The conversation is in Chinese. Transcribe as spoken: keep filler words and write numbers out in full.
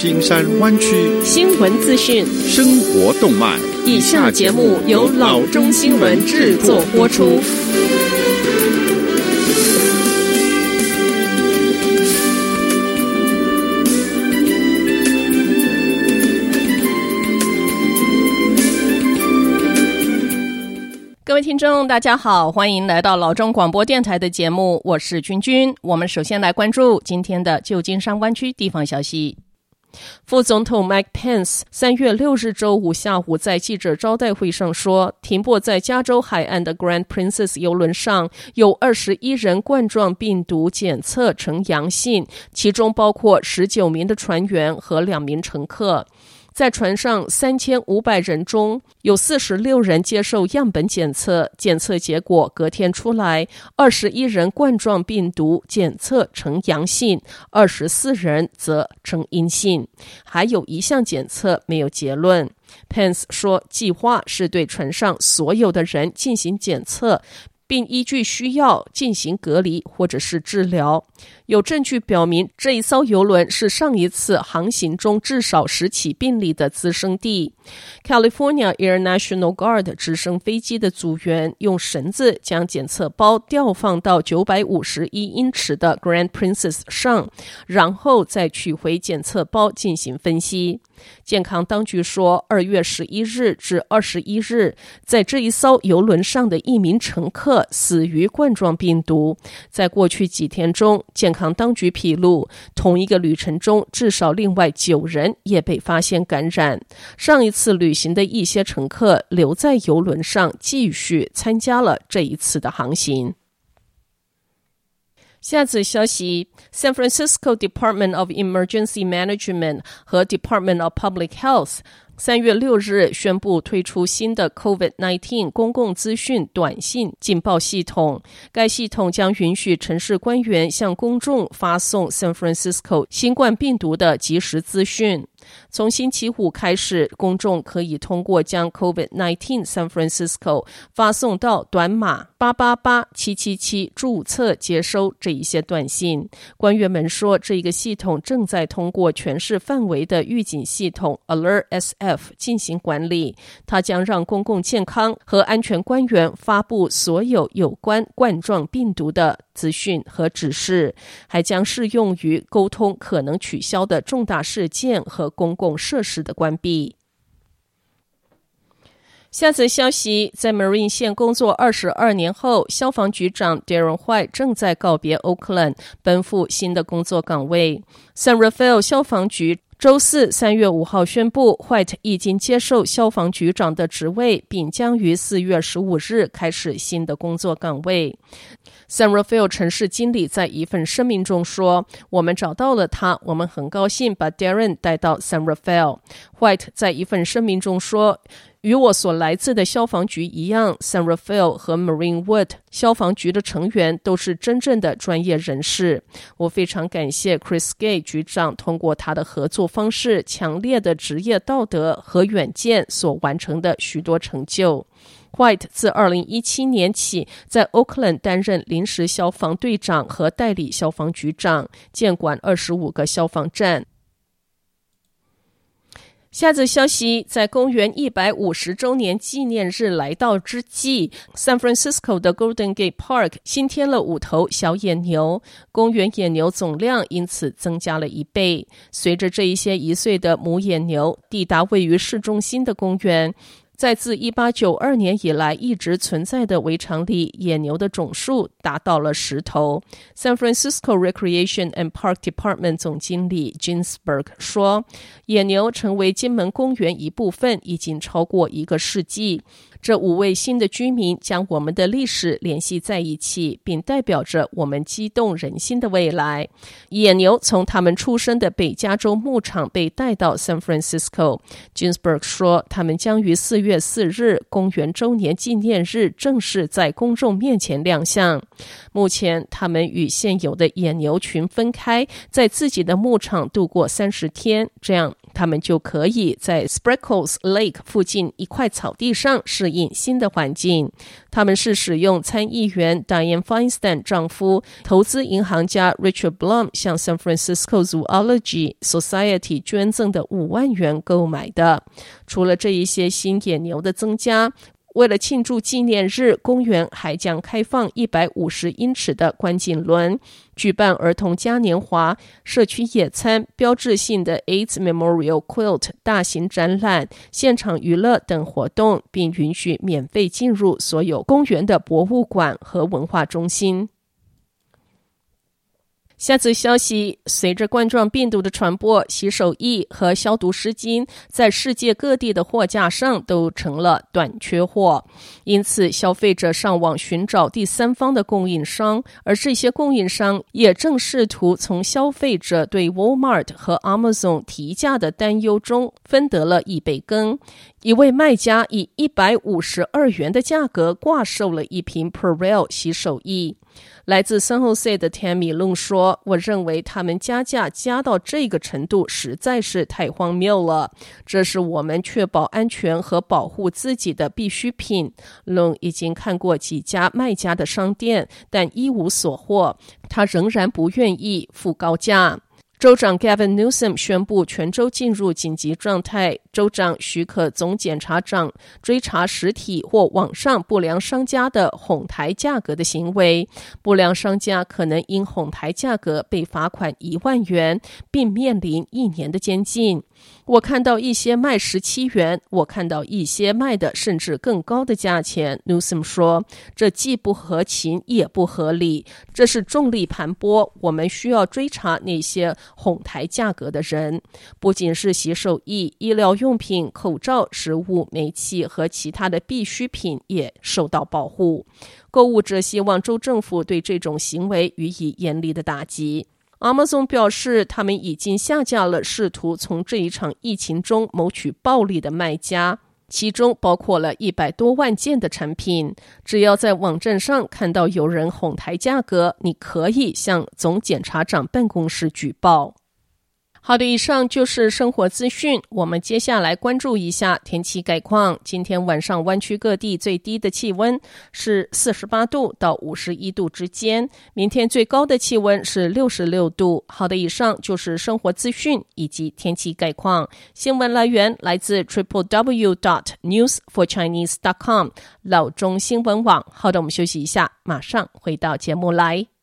金山灣區新聞資訊、 生活動脈。 以下節目由老中新聞製作播出。各位聽眾大家好，歡迎來到老中廣播電臺的節目，我是君君。我們首先來關注今天的舊金山灣區地方消息。副總統 Mike Pence 三月六日周五下午在記者招待會上說，停泊在加州海岸的 Grand Princess 郵輪上有二十一人冠狀病毒檢測呈陽性，其中包括十九名的船員和兩名乘客。在船上三千五百人中，有四十六人接受樣本檢測，檢測結果隔天出來，二十一人冠狀病毒檢測呈陽性，二十四人則呈陰性，還有一項檢測沒有結論。Pence 說，計劃是對船上所有的人進行檢測，並依據需要進行隔離或者是治療。有證據表明，這一艘郵輪是上一次航行中至少十起病例的滋生地。California Air National Guard 直升飛機的組員用繩子將檢測包吊放到九百五十一英尺的 Grand Princess 上，然後再取回檢測包進行分析。健康當局說，二月十一日至二十一日，在這一艘郵輪上的一名乘客死於冠狀病毒。在過去幾天中，健康當局披露，同一個旅程中至少另外九人也被發現感染。上一次旅行的一些乘客留在郵輪上繼續參加了這一次的航行。下則消息 ，San Francisco Department of Emergency Management 和 Department of Public Health三月六日宣布推出新的 COVID 十九 公共資訊短信警報系統。該系統將允許城市官員向公眾發送 San Francisco 新冠病毒的即時資訊。從星期五開始，公眾可以通過將 COVID 十九 San Francisco 發送到短碼八八八七七七註冊接收這一些短信。官員們說，這個系統正在通過全市範圍的預警系統 Alert S F 進行管理，它將讓公共健康和安全官員發布所有有關冠狀病毒的資訊和指示，還將適用於溝通可能取消的重大事件和公共設施的關閉。下則消息，在 Marin 縣工作二十二年後，消防局長 Darren White 正在告別 Oakland， 奔赴新的工作崗位。San Rafael 消防局週四三月五號宣布 White 已經接受消防局長的職位，並將於四月十五日開始新的工作崗位。San Rafael 城市經理在一份聲明中說，我們找到了他，我們很高興把 Darren 帶到 San Rafael。 White 在一份聲明中說，與我所來自的消防局一樣， San Rafael 和 Marine Wood 消防局的成員都是真正的專業人士。我非常感謝 Chris Gay 局長通過他的合作方式、強烈的職業道德和遠見所完成的許多成就。White 自二零一七年起在 Oakland 擔任臨時消防隊長和代理消防局長，監管二十五個消防站。下則消息，在公元一百五十周年紀念日來到之際， San Francisco 的 Golden Gate Park 新添了五頭小野牛，公園野牛總量因此增加了一倍。隨着這一些一歲的母野牛抵達位於市中心的公園，在自一八九二年以來一直存在的圍場裡，野牛的總數達到了十頭。San Francisco Recreation and Park Department 總經理 Ginsberg 說，野牛成為金門公園一部分已經超過一個世紀。這五位新的居民將我們的歷史聯繫在一起，並代表着我們激動人心的未來。野牛從他們出生的北加州牧場被帶到 San Francisco。 Ginsberg 說，他們將於四月四日公元週年紀念日正式在公眾面前亮相。目前他們與現有的野牛群分開，在自己的牧場度過三十天，這樣他們就可以在 Spreckles Lake 附近一塊草地上適應新的環境。他們是使用參議員 Dianne Feinstein 丈夫、投資銀行家 Richard Blum 向 San Francisco Zoology Society 捐贈的五萬元購買的。除了這一些新野牛的增加，為了慶祝紀念日，公園還將開放一百五十英尺的觀景輪，舉辦兒童嘉年華、社區野餐、標誌性的 AIDS Memorial Quilt 大型展覽、現場娛樂等活動，並允許免費進入所有公園的博物館和文化中心。下則消息，隨着冠狀病毒的傳播，洗手液和消毒濕巾在世界各地的貨架上都成了短缺貨，因此消費者上網尋找第三方的供應商，而這些供應商也正試圖從消費者對 Walmart 和 Amazon 提價的擔憂中分得了一杯羹。一位賣家以一百五十二元的價格掛售了一瓶 Purell 洗手液。來自 San Jose 的 Tammy Lung 說，我認為他們加價加到這個程度實在是太荒謬了，這是我們確保安全和保護自己的必需品。Lung 已經看過幾家賣家的商店，但一無所獲，他仍然不願意付高價。州長 Gavin Newsom 宣布全州進入緊急狀態，州長許可總檢察長追查實體或網上不良商家的哄抬價格的行為。不良商家可能因哄抬價格被罰款一萬元，並面臨一年的監禁。我看到一些賣十七元，我看到一些賣的甚至更高的價錢。Newsom 說，這既不合情也不合理，這是重力盤剝，我們需要追查那些哄抬價格的人。不僅是洗手液、醫療用品、口罩、食物、煤氣和其他的必需品也受到保護。購物者希望州政府對這種行為予以嚴厲的打擊。Amazon 表示，他們已經下架了試圖從這一場疫情中謀取暴利的賣家，其中包括了一百多萬件的產品。只要在網站上看到有人哄抬價格，你可以向總檢察長辦公室舉報。好的，以上就是生活資訊。我們接下來關注一下天氣概況。今天晚上灣區各地最低的氣溫是四十八度到五十一度之間，明天最高的氣溫是六十六度。好的，以上就是生活資訊以及天氣概況。新聞來源來自 triple w dot news for chinese dot com 老中新聞網。好的，我們休息一下，馬上回到節目來。